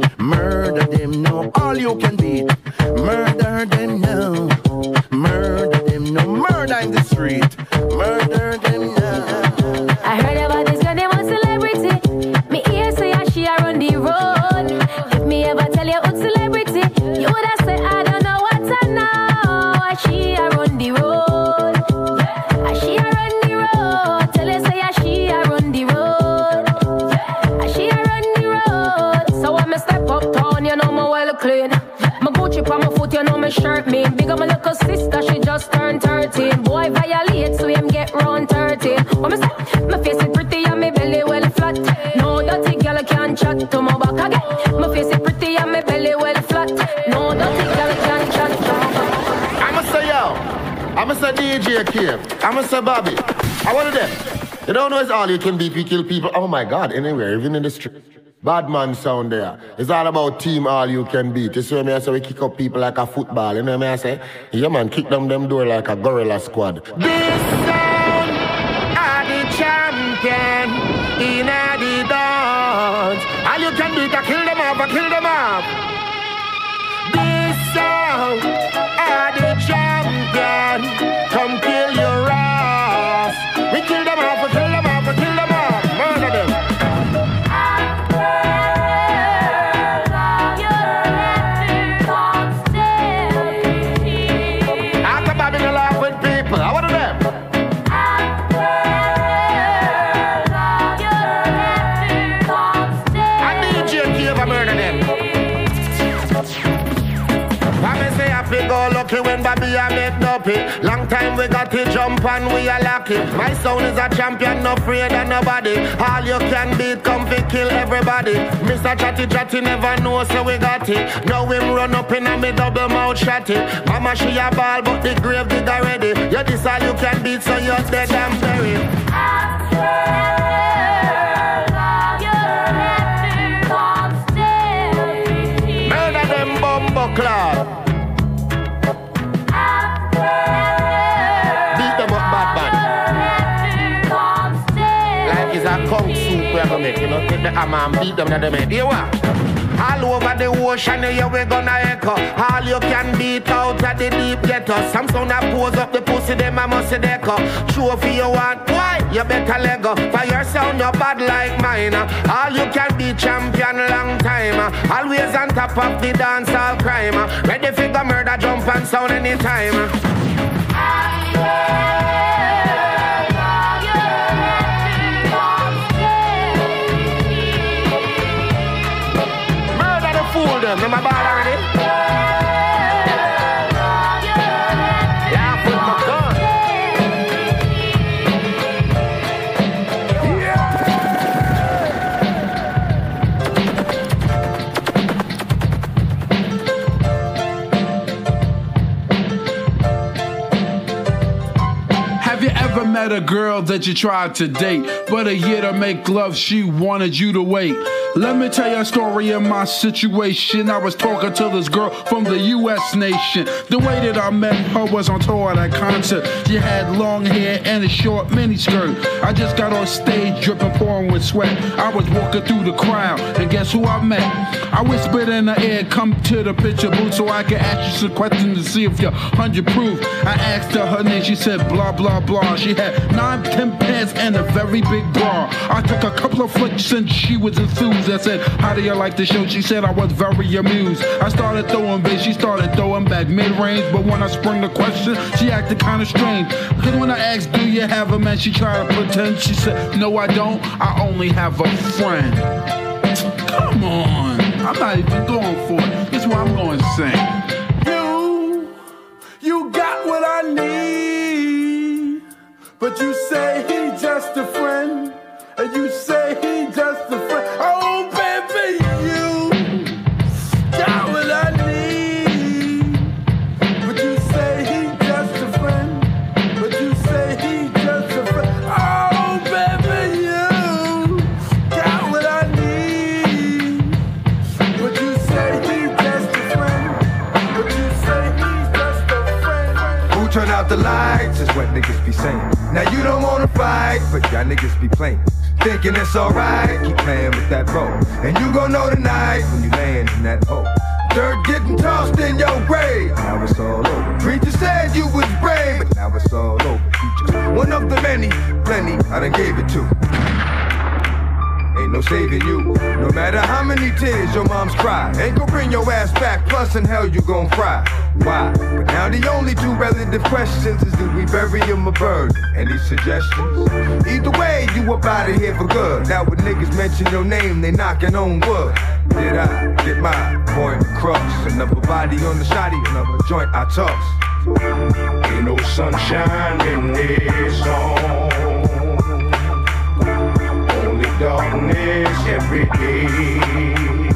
Murder them now, all you can beat. Murder them now. Murder them now. Murder in the street. Murder them now. I heard about this girl, they want celebrity. Me ear say how she a run the road. If me ever tell you about celebrity, you woulda say I don't know what I know. How she a run the road. How she a run the road. Tell you say how she a run the road. How she a run the road. So when me step up town, you know me well clean. My Gucci on my foot, you know me shirt mean. Big up my little sister, she just turned thirteen. Boy violate, so him get round thirteen. What me say? My face is pretty and my belly well flat. No dirty girl can chat to my back again. My face is pretty and my belly well flat. No dirty girl can chat to my back. I'ma say yo, I'ma say D J Cave, I'ma say Bobby. I want them. You don't know it's all you can be if you kill people. Oh my God, anywhere, even in the street. Bad man sound there. It's all about team all you can beat. You see what I say? We kick up people like a football. You know what I say? Yeah man, kick them them door like a gorilla squad. This sound are the champion in the dance. All you can beat, I kill them off, I kill them off. This sound are the champion. Come kill your ass. We kill them off, we kill them off, we kill them off. Murder them. When Bobby I make dopey. Long time we got to jump and we are lucky. My sound is a champion, no afraid of nobody. All you can beat, come fi kill everybody. Mister Chatty Chatty never know, so we got it. Now him run up in a me double mouth shotty. Mama she a ball, but the grave dig already. You this all you can beat, so you're dead and buried. Murder them bumbo cloud. Kung soup we're gonna make, you know, take the hammer and beat them in the head. You what? All over the ocean, here we gonna echo. All you can beat out at the deep ghetto. Some sound that pose up the pussy, them I must deco. Trophy you want, why? You better let go. For your sound, you're bad like mine. All you can be champion long time. Always on top of the dance all crime. Ready for the murder, jump and sound anytime. Fool them, remember bad already? Yeah, put my gun. Yeah. met a girl that you tried to date, but a year to make love, she wanted you to wait. Let me tell you a story of my situation. I was talking to this girl from the U S nation. The way that I met her was on tour at a concert. She had long hair and a short miniskirt. I just got on stage dripping, pouring with sweat. I was walking through the crowd, and guess who I met? I whispered in her ear, come to the picture booth so I can ask you some questions to see if you're one hundred proof. I asked her her name, she said blah, blah, blah. She had nine, ten pants and a very big bra. I took a couple of flicks and she was enthused. I said, how do you like the show? She said I was very amused. I started throwing bass, she started throwing back mid-range. But when I sprung the question, she acted kind of strange. Because when I asked, do you have a man? She tried to pretend. She said, no, I don't. I only have a friend. Come on. I'm not even going for it. This is what I'm going to sing. You, you got what I need. But you say he's just a friend. And you say he's just a friend. Oh, baby, you got what I need. But you say he's just a friend. But you say he's just a friend. Oh, baby, you got what I need. But you say he's just a friend. But you say he's just a friend. Who turn out the lights is what niggas be saying. Now you don't wanna fight, but y'all niggas be playing. Thinking it's alright, keep playing with that bow. And you gon' know tonight when you land in that hole. Dirt getting tossed in your grave. Now it's all over. Preacher said you was brave, but now it's all over. You just one of the many, plenty I done gave it to. Ain't no saving you. No matter how many tears your mom's cry, ain't gon' bring your ass back, plus in hell you gon' fry. Why? But now the only two relative questions is, do we bury him or burn? Any suggestions? Either way, you up out of here for good. Now when niggas mention your name, they knocking on wood. Did I get my point across? Another body on the shoddy, another joint I toss. Ain't no sunshine in this song. Only darkness every day.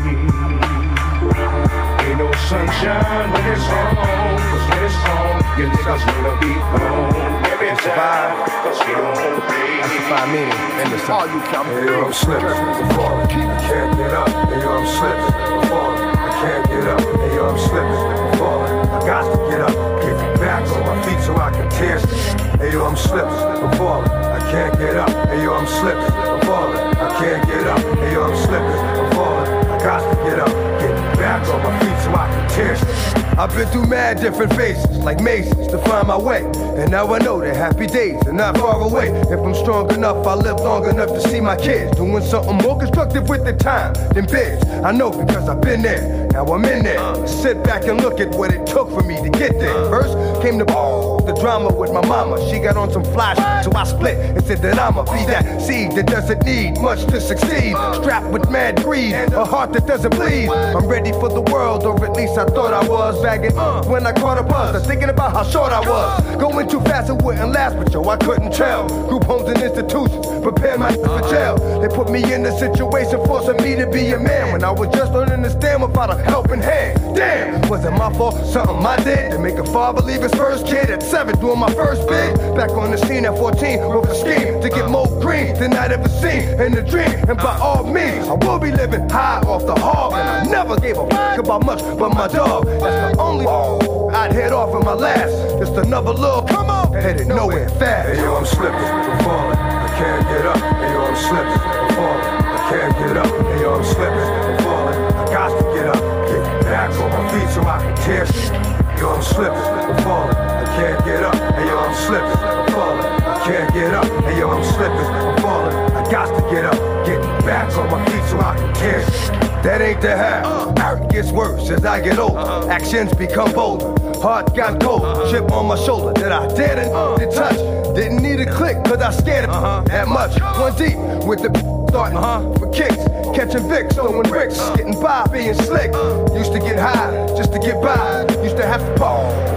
Ain't no sunshine when it's on, cause when it's on, your niggas wanna be gone. Every time, cause we don't play. That's the five meaning in the song. You come hey, yo, I'm slipping, I'm falling, I can't get up. Hey, yo, I'm slipping, I'm falling, I can't get up. Hey, yo, I'm slipping, I'm falling, I got to get up. Get back on my feet so I can tear shit. Hey, yo, I'm slipping, I'm falling, I can't get up. Hey, yo, I'm slipping, I'm falling, I can't get up. Hey, yo, I'm slipping, I'm falling, I got to get up. Get back on my feet so I can tear shit. I've been through mad different phases, like mazes, to find my way. And now I know that happy days are not far away. If I'm strong enough, I'll live long enough to see my kids doing something more constructive with their time than biz. I know because I've been there, now I'm in there. Sit back and look at what it took for me to get there. First came the the drama with my mama. She got on some flash, so I split and said that I'ma be that seed that doesn't need much to succeed. Strapped with mad greed, a heart that doesn't bleed. I'm ready for the world, or at least I thought I was. Bagging uh, when I caught a buzz, I'm thinking about how short I was. Going too fast, it wouldn't last, but yo, I couldn't tell. Group homes and institutions prepare my for jail. They put me in a situation forcing me to be a man when I was just learning to stand without a helping hand. Damn, was it my fault? Something I did to make a father leave his first kid at seven, doing my first bid. Back on the scene at fourteen with a scheme to get more green than I'd ever seen in a dream. And by all means, I will be living high off the hog. And I never gave a fuck about much but my dog. That's the only I'd head off in my last. Just another little come on, headed nowhere fast. Hey yo, I'm slipping, I'm falling, I can't get up. Hey yo, I'm slipping, I'm falling, I can't get up. Hey yo, I'm slipping, I'm falling, I got to get up. Get back on my feet so I can tear shit. Yo, I'm slipping, I'm falling, I can't get up. Hey yo, I'm slipping, I'm falling, I can't get up. Hey yo, I'm slipping, I'm falling, I got to get up. Get back on my feet so I can tear shit. That ain't the half. Art gets worse as I get older. Actions become bolder. Heart got cold. Chip on my shoulder that I didn't did touch. Didn't need a click cause I scared it that much. One deep with the starting for kicks. Catching Vicks, throwing bricks. Getting by, being slick. Used to get high just to get by. Used to have to ball.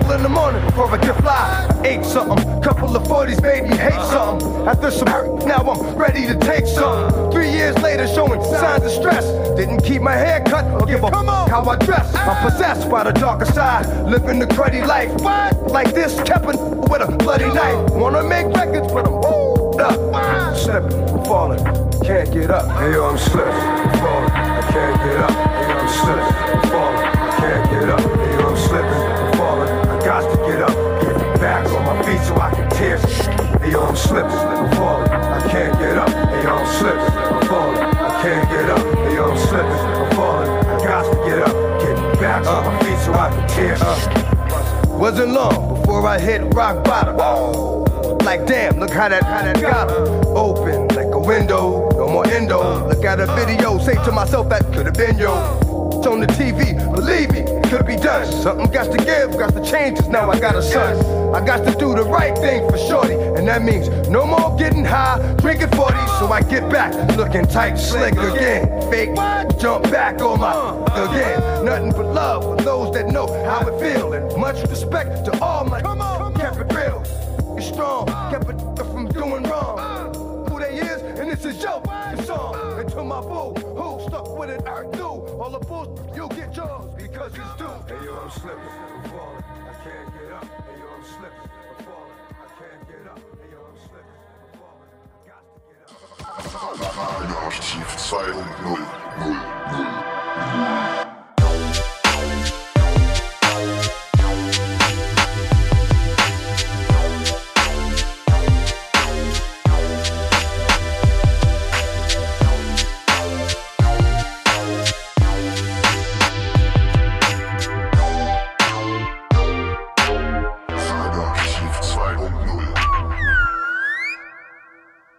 hustle in the morning before I get fly. I ate something, couple of forties made me hate something. After some hurt, now I'm ready to take something. Three years later, showing signs of stress. Didn't keep my hair cut or give a fuck how I dress. I'm possessed by the darker side, living the cruddy life. Like this, Keppin with a bloody knife. Wanna make records, but I'm woo up. Slipping, falling, can't get up. Hey yo, I'm slipping, falling, I can't get up. Hey yo, I'm slipping, falling, I can't get up. Hey yo, I'm slipping, falling, I got to get up. Get back on my feet so I can tear. Hey yo, I'm slipping, falling, I can't get up. Hey yo, I'm slipping, falling, I can't get up. Hey yo, I'm slipping, I'm falling, I got to get up. Get back on my feet so I can tear. Uh, wasn't long before I hit rock bottom. Like damn, look how that, how that got her. Open like a window, no more endo. Look at a video, say to myself that could have been yo. It's on the T V, believe me, it could be done. Something got to give, got to change, 'cause now I got a son. I got to do the right thing for shorty, and that means no more getting high, drinking forty. So I get back, looking tight, slick again. Fake, jump back on my again. Nothing but love for those that know how it feel, and much respect to all my kept it real. It's strong, kept it from doing wrong. Who they is, and this is your song. And to my boo, who stuck with it, I do. All the bulls, you'll get yours because it's due. Hey yo, I'm slipping, I'm falling, I can't get up. Hey yo, I'm slipping, I'm falling, I can't get up. Hey yo, I'm slipping, I'm falling, I got to get up. Archiv zwei und null null null.